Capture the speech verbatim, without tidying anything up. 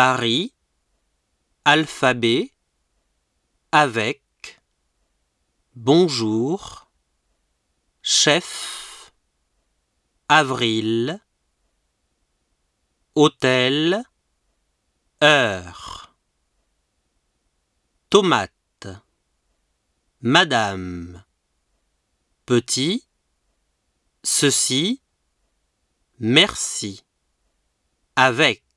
Paris, alphabet, avec, bonjour, chef, avril, hôtel, heure, tomate, madame, petit, ceci, merci, avec.